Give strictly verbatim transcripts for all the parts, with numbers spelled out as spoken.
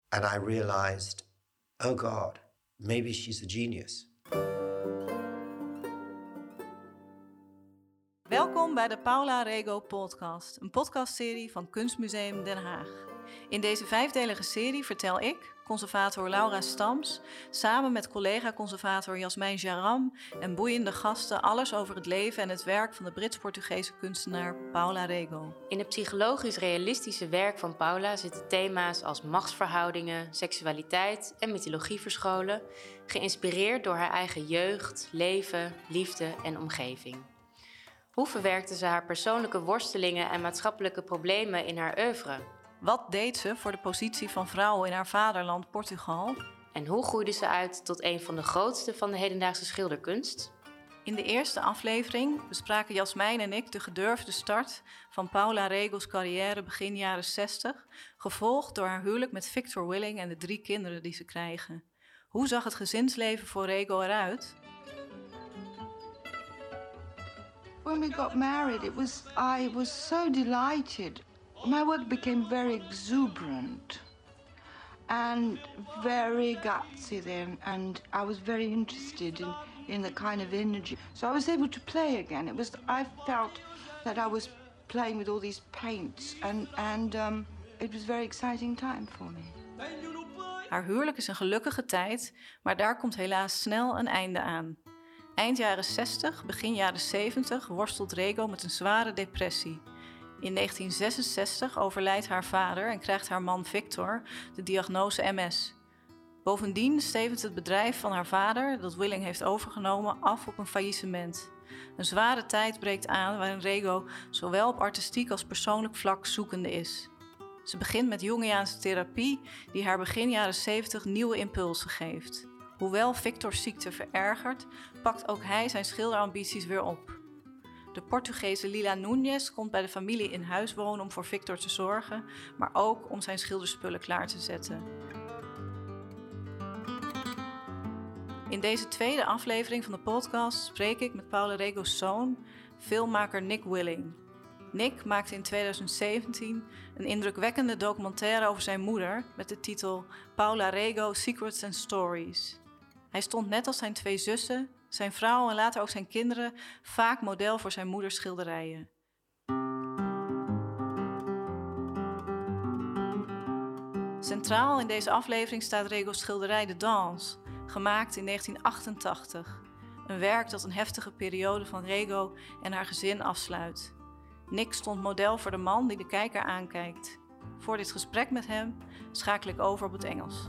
And I realized, oh God, maybe she's a genius. Welkom bij de Paula Rego podcast, een podcastserie van Kunstmuseum Den Haag. In deze vijfdelige serie vertel ik, conservator Laura Stams, samen met collega-conservator Jasmijn Jaram en boeiende gasten alles over het leven en het werk van de Brits-Portugese kunstenaar Paula Rego. In het psychologisch-realistische werk van Paula zitten thema's als machtsverhoudingen, seksualiteit en mythologie verscholen, geïnspireerd door haar eigen jeugd, leven, liefde en omgeving. Hoe verwerkte ze haar persoonlijke worstelingen en maatschappelijke problemen in haar oeuvre? Wat deed ze voor de positie van vrouwen in haar vaderland Portugal? En hoe groeide ze uit tot een van de grootste van de hedendaagse schilderkunst? In de eerste aflevering bespraken Jasmijn en ik de gedurfde start van Paula Rego's carrière begin jaren zestig, gevolgd door haar huwelijk met Victor Willing en de drie kinderen die ze krijgen. Hoe zag het gezinsleven voor Rego eruit? When we got married, it was I was so delighted. My work became very exuberant and very gutsy then, and I was very interested in, in the kind of energy. So I was able to play again. It was I felt that I was playing with all these paints, and and um, it was a very exciting time for me. Haar huwelijk is een gelukkige tijd, maar daar komt helaas snel een einde aan. Eind jaren zestig, begin jaren zeventig worstelt Rego met een zware depressie. In negentien zesenzestig overlijdt haar vader en krijgt haar man Victor de diagnose M S. Bovendien stevent het bedrijf van haar vader, dat Willing heeft overgenomen, af op een faillissement. Een zware tijd breekt aan waarin Rego zowel op artistiek als persoonlijk vlak zoekende is. Ze begint met Jungiaanse therapie die haar begin jaren zeventig nieuwe impulsen geeft. Hoewel Victor's ziekte verergert, pakt ook hij zijn schilderambities weer op. De Portugese Lila Núñez komt bij de familie in huis wonen om voor Victor te zorgen, maar ook om zijn schilderspullen klaar te zetten. In deze tweede aflevering van de podcast spreek ik met Paula Rego's zoon, filmmaker Nick Willing. Nick maakte in tweeduizend zeventien een indrukwekkende documentaire over zijn moeder met de titel Paula Rego Secrets and Stories. Hij stond net als zijn twee zussen, zijn vrouw en later ook zijn kinderen vaak model voor zijn moeders schilderijen. Centraal in deze aflevering staat Rego's schilderij De Danse, gemaakt in negentien achtentachtig. Een werk dat een heftige periode van Rego en haar gezin afsluit. Nick stond model voor de man die de kijker aankijkt. Voor dit gesprek met hem schakel ik over op het Engels.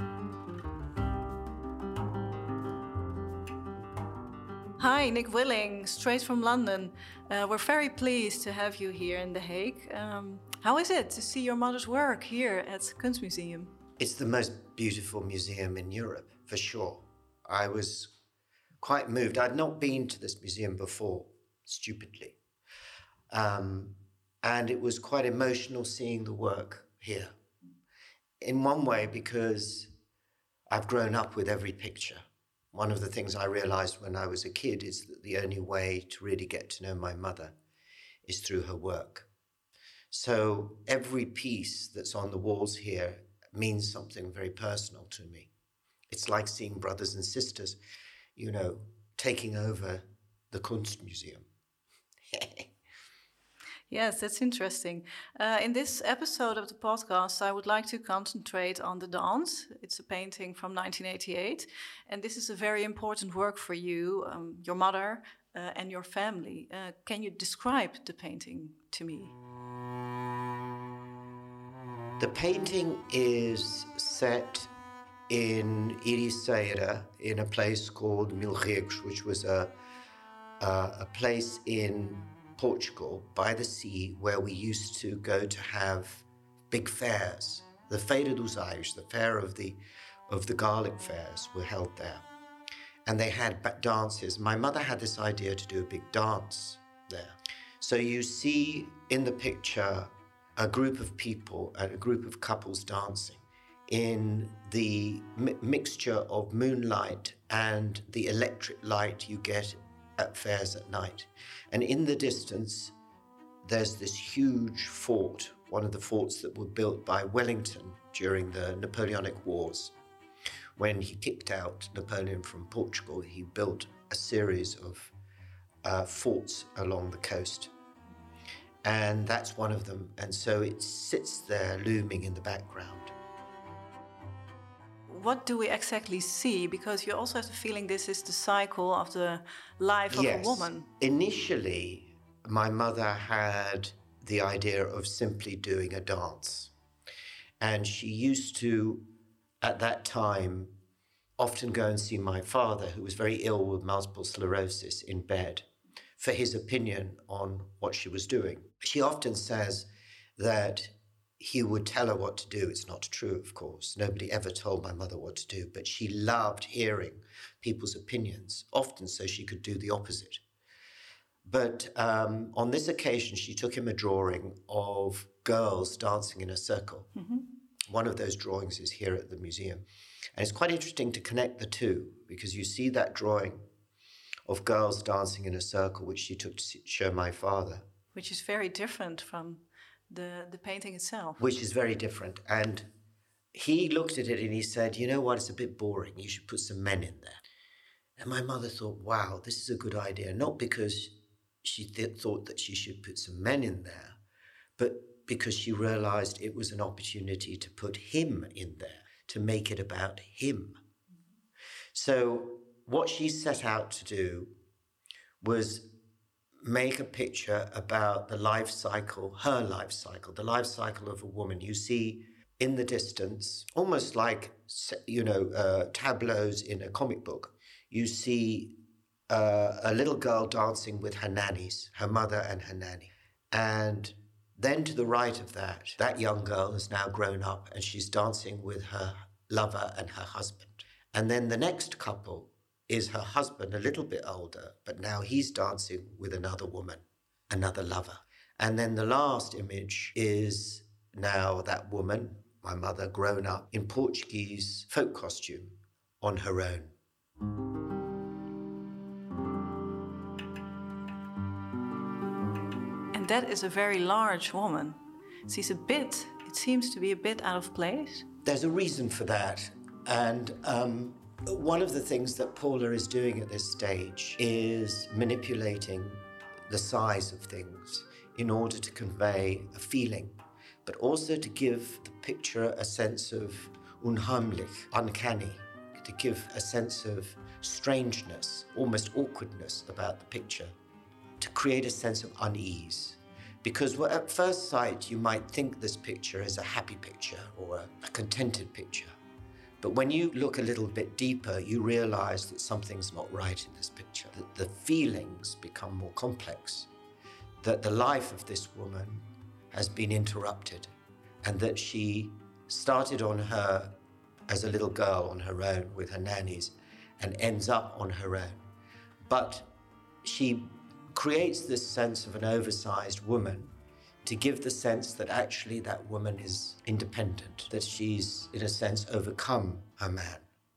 Hi, Nick Willing, straight from London. Uh, we're very pleased to have you here in The Hague. Um, how is it to see your mother's work here at Kunstmuseum? It's the most beautiful museum in Europe, for sure. I was quite moved. I'd not been to this museum before, stupidly. Um, and it was quite emotional seeing the work here. In one way, because I've grown up with every picture. One of the things I realized when I was a kid is that the only way to really get to know my mother is through her work. So every piece that's on the walls here means something very personal to me. It's like seeing brothers and sisters, you know, taking over the Kunstmuseum. Yes, that's interesting. Uh, in this episode of the podcast, I would like to concentrate on The Dance. It's a painting from nineteen eighty-eight. And this is a very important work for you, um, your mother, uh, and your family. Uh, can you describe the painting to me? The painting is set in Ericeira, in a place called Milregos, which was a, a, a place in Portugal by the sea where we used to go to have big fairs. The Feira dos Ais, the fair of the of the garlic fairs, were held there. And they had dances. My mother had this idea to do a big dance there. So you see in the picture a group of people, a group of couples dancing in the mi- mixture of moonlight and the electric light you get at fairs at night. And in the distance, there's this huge fort, one of the forts that were built by Wellington during the Napoleonic Wars. When he kicked out Napoleon from Portugal, he built a series of uh, forts along the coast. And that's one of them. And so it sits there looming in the background. What do we exactly see? Because you also have the feeling this is the cycle of the life of Yes. a woman. Initially, my mother had the idea of simply doing a dance. And she used to, at that time, often go and see my father, who was very ill with multiple sclerosis, in bed, for his opinion on what she was doing. She often says that he would tell her what to do. It's not true, of course. Nobody ever told my mother what to do, but she loved hearing people's opinions, often so she could do the opposite. But um, on this occasion, she took him a drawing of girls dancing in a circle. Mm-hmm. One of those drawings is here at the museum. And it's quite interesting to connect the two, because you see that drawing of girls dancing in a circle, which she took to show my father. Which is very different from the, the painting itself. Which is very different. And he looked at it and he said, you know what, it's a bit boring. You should put some men in there. And my mother thought, wow, this is a good idea. Not because she th- thought that she should put some men in there, but because she realized it was an opportunity to put him in there, to make it about him. So what she set out to do was make a picture about the life cycle, her life cycle, the life cycle of a woman. You see in the distance, almost like, you know, uh, tableaus in a comic book, you see uh, a little girl dancing with her nannies, her mother and her nanny. And then to the right of that, that young girl is now grown up and she's dancing with her lover and her husband. And then the next couple is her husband, a little bit older, but now he's dancing with another woman, another lover. And then the last image is now that woman, my mother, grown up in Portuguese folk costume on her own. And that is a very large woman. She's a bit, it seems to be a bit out of place. There's a reason for that. And um, one of the things that Paula is doing at this stage is manipulating the size of things in order to convey a feeling, but also to give the picture a sense of unheimlich, uncanny, to give a sense of strangeness, almost awkwardness about the picture, to create a sense of unease. Because at first sight, you might think this picture is a happy picture or a, a contented picture. But when you look a little bit deeper, you realize that something's not right in this picture, that the feelings become more complex, that the life of this woman has been interrupted, and that she started on her as a little girl on her own with her nannies and ends up on her own. But she creates this sense of an oversized woman to give the sense that actually that woman is independent, that she's, in a sense, overcome her man.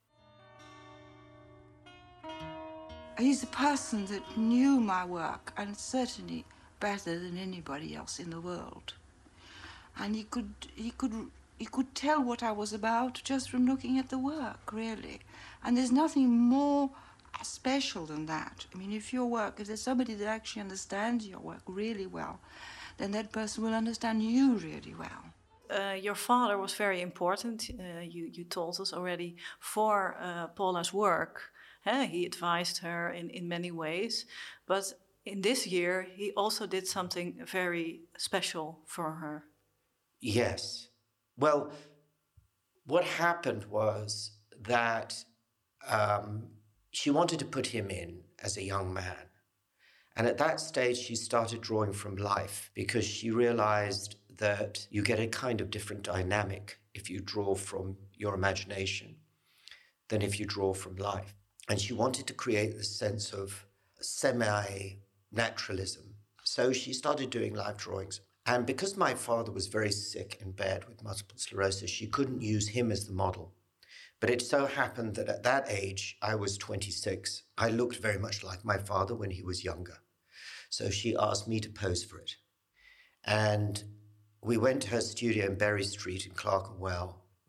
He's a person that knew my work, and certainly better than anybody else in the world. And he could, he could, he could tell what I was about just from looking at the work, really. And there's nothing more special than that. I mean, if your work, if there's somebody that actually understands your work really well, then that person will understand you really well. Uh, your father was very important, uh, you, you told us already, for uh, Paula's work. Uh, he advised her in, in many ways. But in this year, he also did something very special for her. Yes. Well, what happened was that um, she wanted to put him in as a young man. And at that stage, she started drawing from life because she realized that you get a kind of different dynamic if you draw from your imagination than if you draw from life. And she wanted to create this sense of semi-naturalism. So she started doing live drawings. And because my father was very sick in bed with multiple sclerosis, she couldn't use him as the model. But it so happened that at that age, I was twenty-six. I looked very much like my father when he was younger. So she asked me to pose for it. And we went to her studio in Berry Street in Clerkenwell,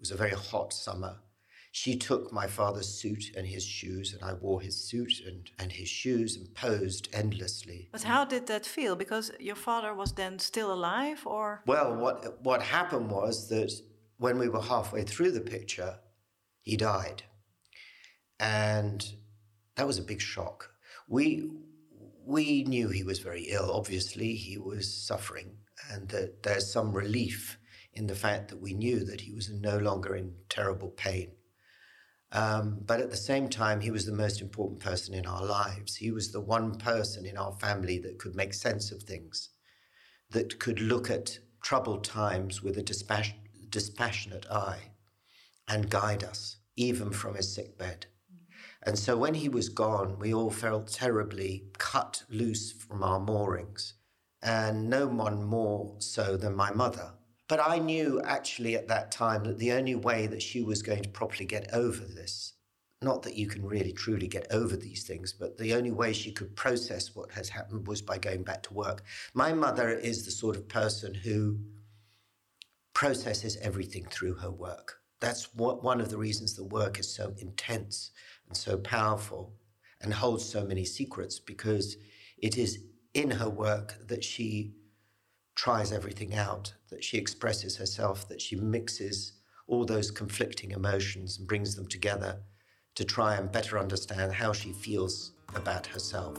was a very hot summer. She took my father's suit and his shoes, and I wore his suit and, and his shoes and posed endlessly. But how did that feel? Because your father was then still alive, or? Well, what what happened was that when we were halfway through the picture, he died. And that was a big shock. We we knew he was very ill. Obviously, he was suffering, and that there's some relief in the fact that we knew that he was no longer in terrible pain. Um, but at the same time, he was the most important person in our lives. He was the one person in our family that could make sense of things, that could look at troubled times with a dispass- dispassionate eye and guide us, even from his sick bed. And so when he was gone, we all felt terribly cut loose from our moorings, and no one more so than my mother. But I knew actually at that time that the only way that she was going to properly get over this, not that you can really truly get over these things, but the only way she could process what has happened was by going back to work. My mother is the sort of person who processes everything through her work. That's what, one of the reasons the work is so intense and so powerful and holds so many secrets, because it is in her work that she tries everything out, that she expresses herself, that she mixes all those conflicting emotions and brings them together to try and better understand how she feels about herself.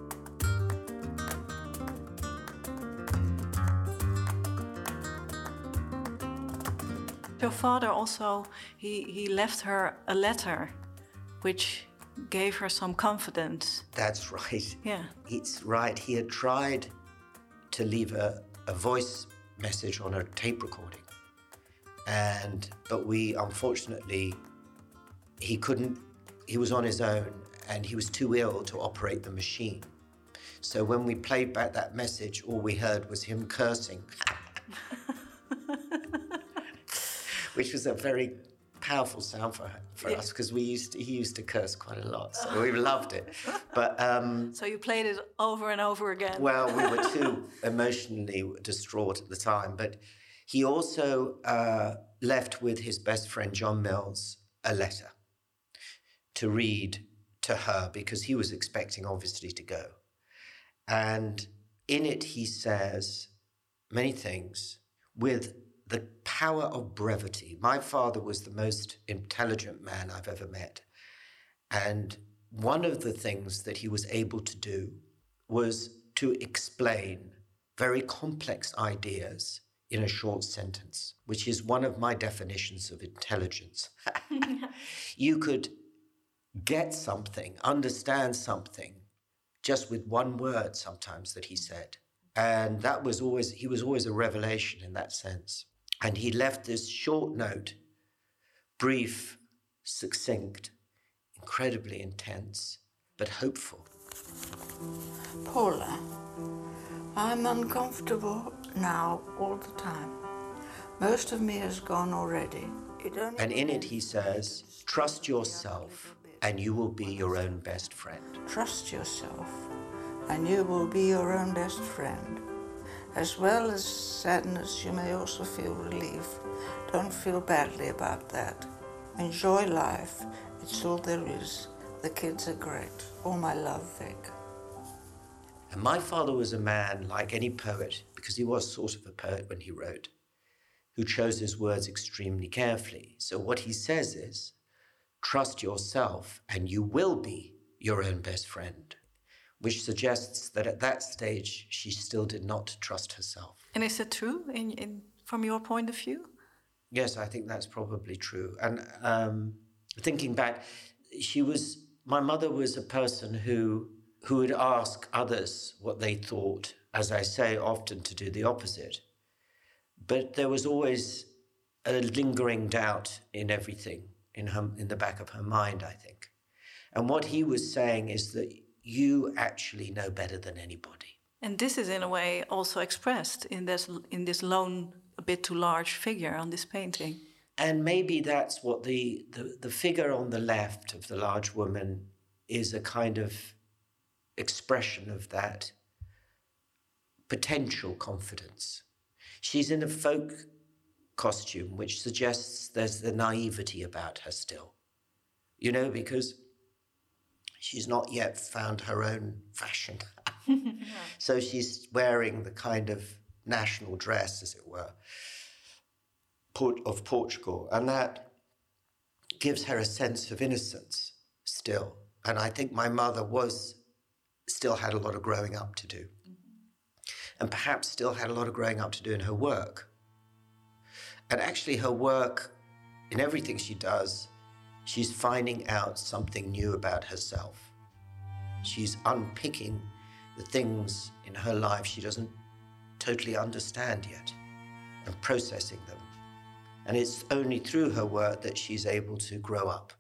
Your father also, he, he left her a letter which gave her some confidence. That's right. Yeah. It's right. He had tried to leave a, a voice message on a tape recording. And, but we, unfortunately, he couldn't, he was on his own and he was too ill to operate the machine. So when we played back that message, all we heard was him cursing. Which was a very powerful sound for for yeah. us, because we used to, he used to curse quite a lot, so we loved it. But um, so you played it over and over again. Well, we were too emotionally distraught at the time. But he also uh, left with his best friend John Mills a letter to read to her, because he was expecting, obviously, to go. And in it, he says many things with the power of brevity. My father was the most intelligent man I've ever met. And one of the things that he was able to do was to explain very complex ideas in a short sentence, which is one of my definitions of intelligence. You could get something, understand something, just with one word sometimes that he said. And that was always, he was always a revelation in that sense. And he left this short note, brief, succinct, incredibly intense, but hopeful. Paula, I'm uncomfortable now all the time. Most of me is gone already. It only and in it he says, trust yourself and you will be your own best friend. Trust yourself and you will be your own best friend. As well as sadness, you may also feel relief. Don't feel badly about that. Enjoy life. It's all there is. The kids are great. All my love, Vic. And my father was a man like any poet, because he was sort of a poet when he wrote, who chose his words extremely carefully. So what he says is, trust yourself and you will be your own best friend, which suggests that at that stage, she still did not trust herself. And is it true in, in, from your point of view? Yes, I think that's probably true. And um, thinking back, she was, my mother was a person who, who would ask others what they thought, as I say, often to do the opposite. But there was always a lingering doubt in everything, in her, in the back of her mind, I think. And what he was saying is that you actually know better than anybody. And this is in a way also expressed in this in this lone, a bit too large figure on this painting. And maybe that's what the, the, the figure on the left of the large woman is, a kind of expression of that potential confidence. She's in a folk costume, which suggests there's the naivety about her still. You know, because she's not yet found her own fashion. Yeah. So she's wearing the kind of national dress, as it were, of Portugal. And that gives her a sense of innocence still. And I think my mother was, still had a lot of growing up to do. Mm-hmm. And perhaps still had a lot of growing up to do in her work. And actually her work, in everything she does, she's finding out something new about herself. She's unpicking the things in her life she doesn't totally understand yet and processing them. And it's only through her work that she's able to grow up.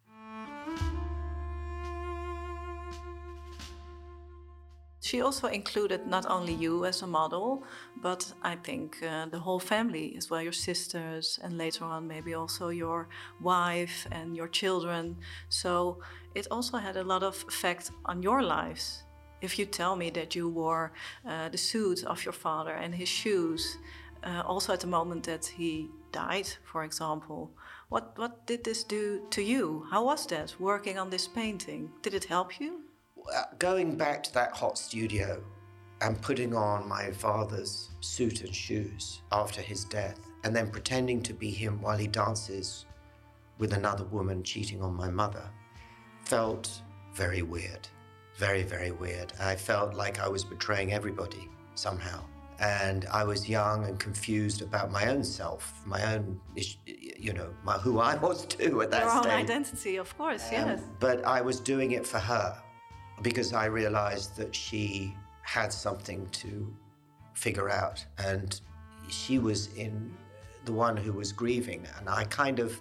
She also included not only you as a model, but I think uh, the whole family as well, your sisters, and later on maybe also your wife and your children. So it also had a lot of effect on your lives. If you tell me that you wore uh, the suit of your father and his shoes, uh, also at the moment that he died, for example, what, what did this do to you? How was that, working on this painting? Did it help you? Going back to that hot studio and putting on my father's suit and shoes after his death, and then pretending to be him while he dances with another woman cheating on my mother, felt very weird, very, very weird. I felt like I was betraying everybody somehow. And I was young and confused about my own self, my own, you know, my, who I was too at that stage. Your own stage. identity, of course, um, yes. But I was doing it for her, because I realized that she had something to figure out, and she was in the one who was grieving, and I kind of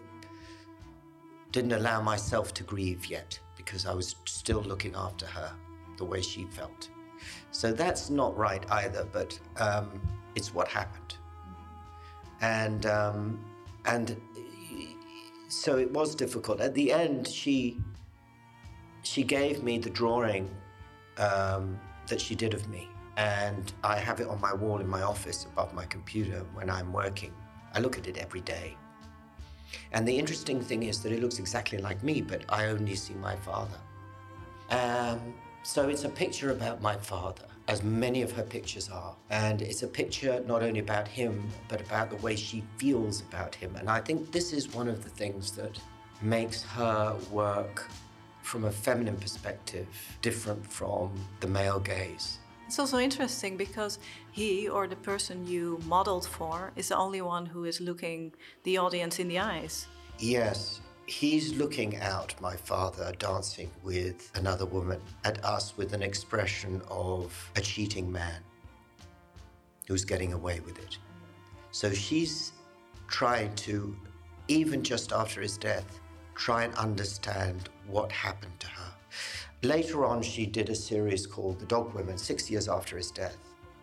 didn't allow myself to grieve yet because I was still looking after her the way she felt. So that's not right either, but um, it's what happened. And, um, and so it was difficult. At the end, she She gave me the drawing um, that she did of me, and I have it on my wall in my office above my computer when I'm working. I look at it every day. And the interesting thing is that it looks exactly like me, but I only see my father. Um, so it's a picture about my father, as many of her pictures are. And it's a picture not only about him, but about the way she feels about him. And I think this is one of the things that makes her work from a feminine perspective, different from the male gaze. It's also interesting because he, or the person you modeled for, is the only one who is looking the audience in the eyes. Yes, he's looking out, my father, dancing with another woman, at us with an expression of a cheating man who's getting away with it. So she's trying to, even just after his death, try and understand what happened to her. Later on, she did a series called The Dog Women, six years after his death,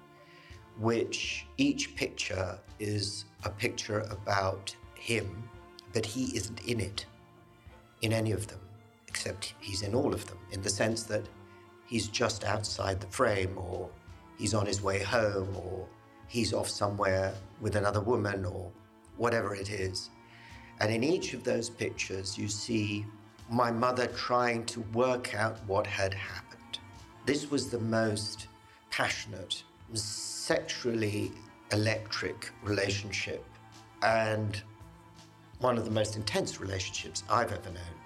which each picture is a picture about him, but he isn't in it, in any of them, except he's in all of them, in the sense that he's just outside the frame, or he's on his way home, or he's off somewhere with another woman, or whatever it is. And in each of those pictures, you see my mother trying to work out what had happened. This was the most passionate, sexually electric relationship, and one of the most intense relationships I've ever known.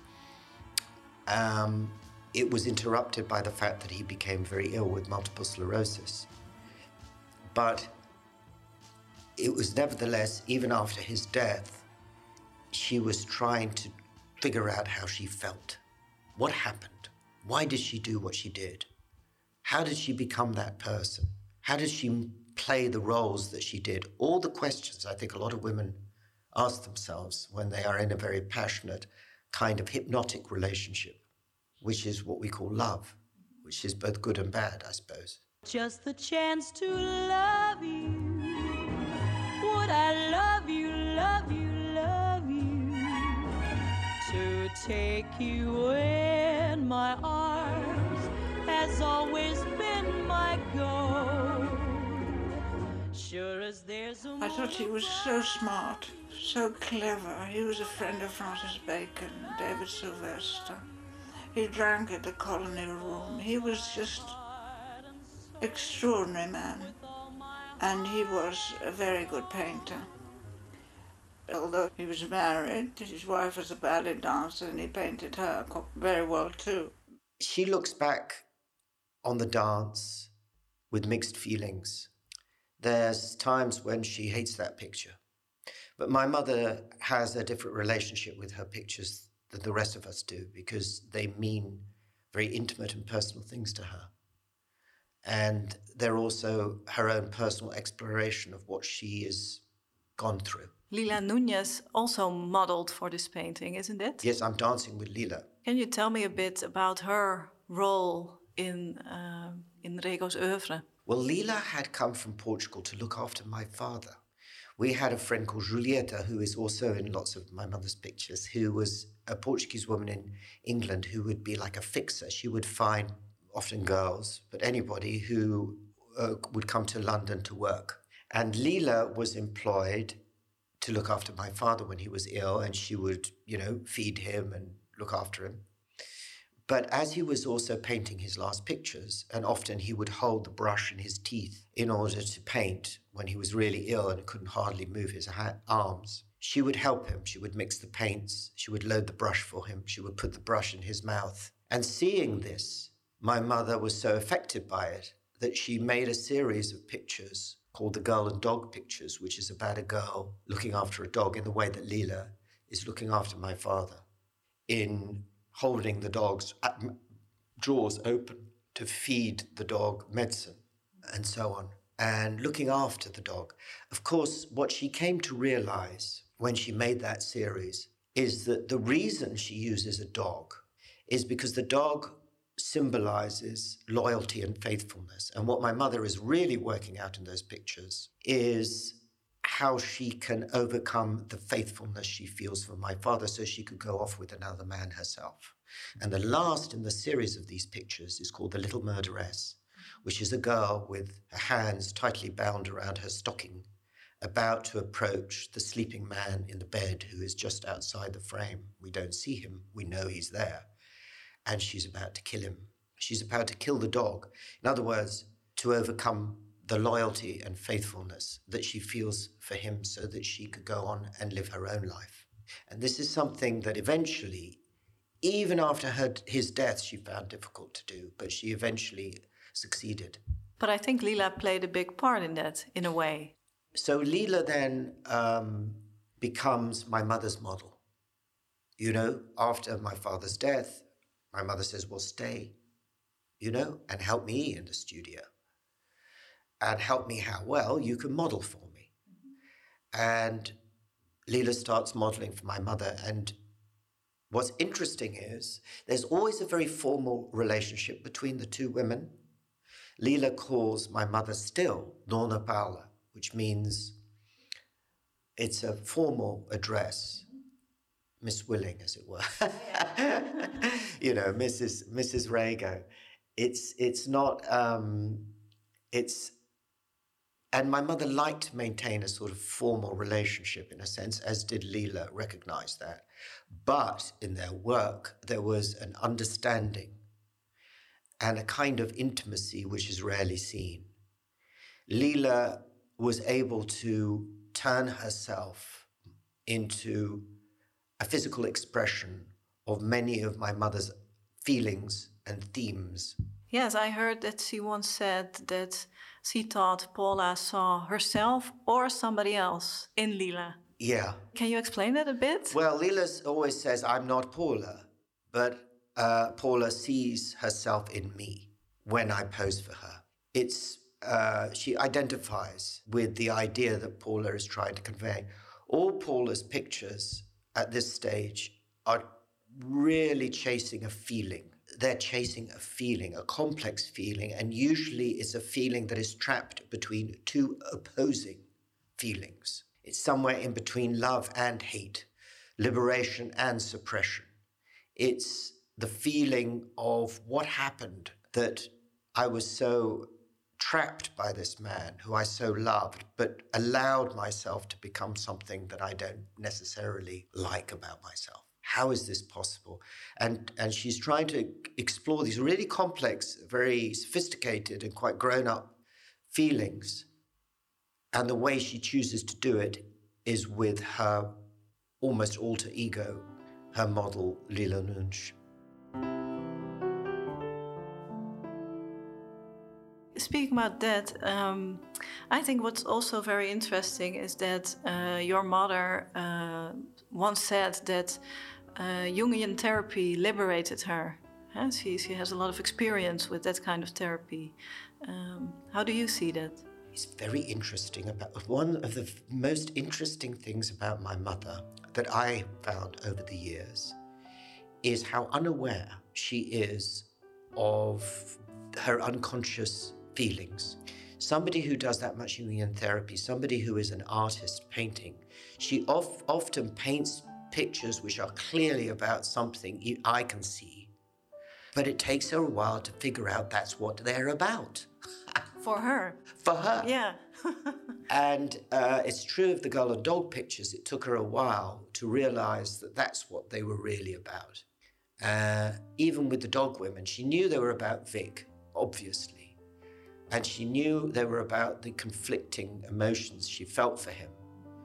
Um, it was interrupted by the fact that he became very ill with multiple sclerosis. But it was nevertheless, even after his death, she was trying to figure out how she felt. What happened? Why did she do what she did? How did she become that person? How did she play the roles that she did? All the questions I think a lot of women ask themselves when they are in a very passionate kind of hypnotic relationship, which is what we call love, which is both good and bad, I suppose. Just the chance to love you. Would I love you, love you, love you? To take you in my arms has always been my goal. sure as there's a I thought he was so smart, so clever. He was a friend of Francis Bacon, David Sylvester. He drank at the Colony Room. He was just extraordinary man. And he was a very good painter. Although he was married, his wife was a ballet dancer and he painted her very well too. She looks back on the dance with mixed feelings. There's times when she hates that picture. But my mother has a different relationship with her pictures than the rest of us do because they mean very intimate and personal things to her. And they're also her own personal exploration of what she has gone through. Lila Núñez also modeled for this painting, isn't it? Yes, I'm dancing with Lila. Can you tell me a bit about her role in, uh, in Rego's oeuvre? Well, Lila had come from Portugal to look after my father. We had a friend called Julieta, who is also in lots of my mother's pictures, who was a Portuguese woman in England who would be like a fixer. She would find often girls, but anybody who uh, would come to London to work. And Lila was employed to look after my father when he was ill, and she would, you know, feed him and look after him. But as he was also painting his last pictures, and often he would hold the brush in his teeth in order to paint when he was really ill and couldn't hardly move his ha- arms, she would help him. She would mix the paints. She would load the brush for him. She would put the brush in his mouth. And seeing this, my mother was so affected by it that she made a series of pictures called the Girl and Dog Pictures, which is about a girl looking after a dog in the way that Lila is looking after my father, in holding the dog's jaws open to feed the dog medicine and so on, and looking after the dog. Of course, what she came to realize when she made that series is that the reason she uses a dog is because the dog symbolizes loyalty and faithfulness. And what my mother is really working out in those pictures is how she can overcome the faithfulness she feels for my father so she could go off with another man herself. And the last in the series of these pictures is called The Little Murderess, which is a girl with her hands tightly bound around her stocking, about to approach the sleeping man in the bed who is just outside the frame. We don't see him, we know he's there. And she's about to kill him. She's about to kill the dog. In other words, to overcome the loyalty and faithfulness that she feels for him so that she could go on and live her own life. And this is something that eventually, even after her, his death, she found difficult to do, but she eventually succeeded. But I think Lila played a big part in that, in a way. So Lila then um, becomes my mother's model. You know, after my father's death, my mother says, well, stay, you know, and help me in the studio. And help me how? Well, you can model for me. And Lila starts modeling for my mother. And what's interesting is there's always a very formal relationship between the two women. Lila calls my mother still Dona Paula, which means it's a formal address. Miss Willing, as it were. You know, Missus Missus Rego. It's it's not um, it's and my mother liked to maintain a sort of formal relationship in a sense, as did Lila recognize that. But in their work, there was an understanding and a kind of intimacy which is rarely seen. Lila was able to turn herself into a physical expression of many of my mother's feelings and themes. Yes, I heard that she once said that she thought Paula saw herself or somebody else in Lila. Yeah. Can you explain that a bit? Well, Lila always says, I'm not Paula, but uh, Paula sees herself in me when I pose for her. It's uh, she identifies with the idea that Paula is trying to convey. All Paula's pictures at this stage are really chasing a feeling. They're chasing a feeling, a complex feeling, and usually it's a feeling that is trapped between two opposing feelings. It's somewhere in between love and hate, liberation and suppression. It's the feeling of what happened that I was so trapped by this man who I so loved, but allowed myself to become something that I don't necessarily like about myself. How is this possible? And, and she's trying to explore these really complex, very sophisticated and quite grown-up feelings. And the way she chooses to do it is with her almost alter ego, her model, Lila Nunch. Speaking about that, um, I think what's also very interesting is that uh, your mother uh, once said that uh, Jungian therapy liberated her. Huh? She, she has a lot of experience with that kind of therapy. Um, how do you see that? It's very interesting. About one of the f- most interesting things about my mother that I found over the years is how unaware she is of her unconscious feelings. Somebody who does that much Jungian therapy, somebody who is an artist painting, she of, often paints pictures which are clearly about something I can see, but it takes her a while to figure out that's what they're about. For her. For her. Yeah. And uh, it's true of the girl and dog pictures. It took her a while to realize that that's what they were really about. Uh, even with the dog women, she knew they were about Vic, obviously. And she knew they were about the conflicting emotions she felt for him.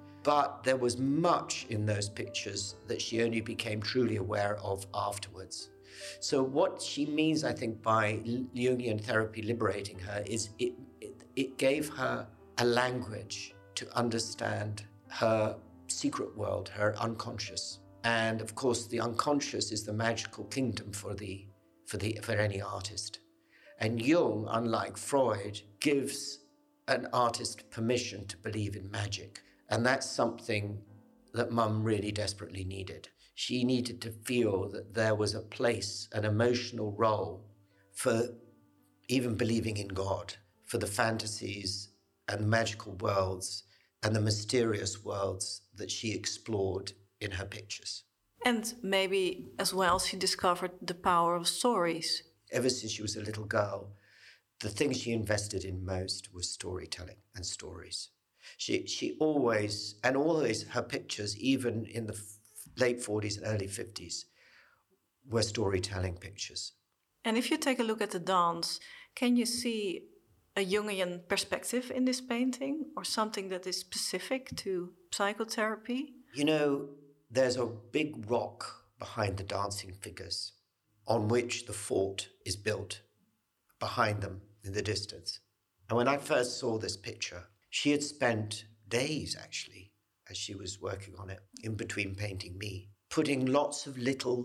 But there was much in those pictures that she only became truly aware of afterwards. So what she means, I think, by Jungian therapy liberating her is it, it, it gave her a language to understand her secret world, her unconscious. And of course, the unconscious is the magical kingdom for, the, for, the, for any artist. And Jung, unlike Freud, gives an artist permission to believe in magic. And that's something that Mum really desperately needed. She needed to feel that there was a place, an emotional role for even believing in God, for the fantasies and magical worlds and the mysterious worlds that she explored in her pictures. And maybe as well she discovered the power of stories. Ever since she was a little girl, the thing she invested in most was storytelling and stories. She she always, and always her pictures, even in the late forties and early fifties, were storytelling pictures. And if you take a look at the dance, can you see a Jungian perspective in this painting or something that is specific to psychotherapy? You know, there's a big rock behind the dancing figures on which the fort is built, behind them in the distance. And when I first saw this picture, she had spent days, actually, as she was working on it, in between painting me, putting lots of little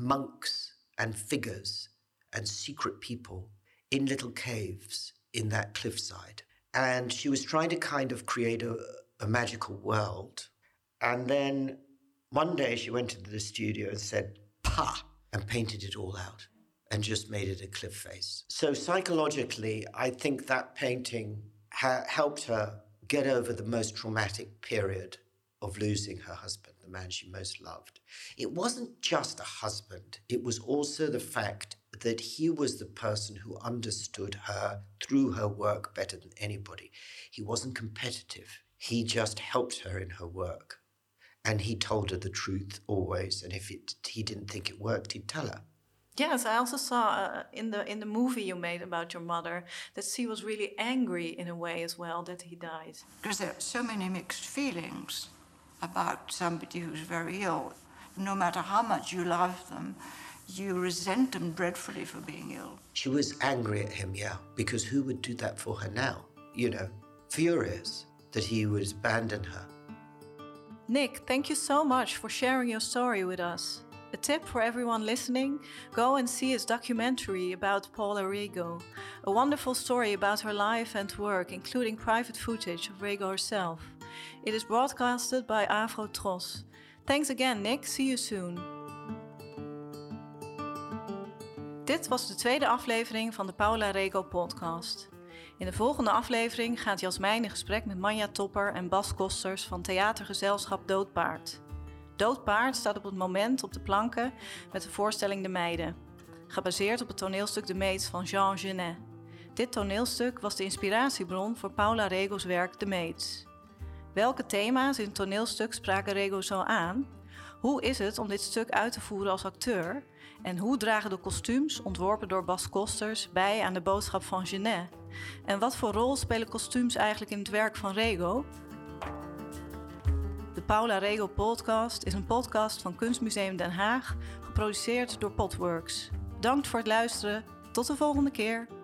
monks and figures and secret people in little caves in that cliffside. And she was trying to kind of create a, a magical world. And then one day she went into the studio and said, "Pa!" and painted it all out and just made it a cliff face. So psychologically, I think that painting ha- helped her get over the most traumatic period of losing her husband, the man she most loved. It wasn't just a husband. It was also the fact that he was the person who understood her through her work better than anybody. He wasn't competitive. He just helped her in her work. And he told her the truth always. And if it, he didn't think it worked, he'd tell her. Yes, I also saw uh, in the in the movie you made about your mother that she was really angry in a way as well that he died. Because there are so many mixed feelings about somebody who's very ill. No matter how much you love them, you resent them dreadfully for being ill. She was angry at him, yeah, because who would do that for her now? You know, furious that he would abandon her. Nick, thank you so much for sharing your story with us. A tip for everyone listening, go and see his documentary about Paula Rego. A wonderful story about her life and work, including private footage of Rego herself. It is broadcasted by Afro Tros. Thanks again, Nick. See you soon. Dit was de tweede aflevering van de Paula Rego podcast. In de volgende aflevering gaat Jasmijn in gesprek met Manja Topper en Bas Kosters van theatergezelschap Doodpaard. Doodpaard staat op het moment op de planken met de voorstelling De Meiden, gebaseerd op het toneelstuk De Meid van Jean Genet. Dit toneelstuk was de inspiratiebron voor Paula Rego's werk De Maids. Welke thema's in het toneelstuk spraken Rego zo aan? Hoe is het om dit stuk uit te voeren als acteur? En hoe dragen de kostuums, ontworpen door Bas Kosters, bij aan de boodschap van Genet? En wat voor rol spelen kostuums eigenlijk in het werk van Rego? De Paula Rego podcast is een podcast van Kunstmuseum Den Haag, geproduceerd door Potworks. Bedankt voor het luisteren. Tot de volgende keer.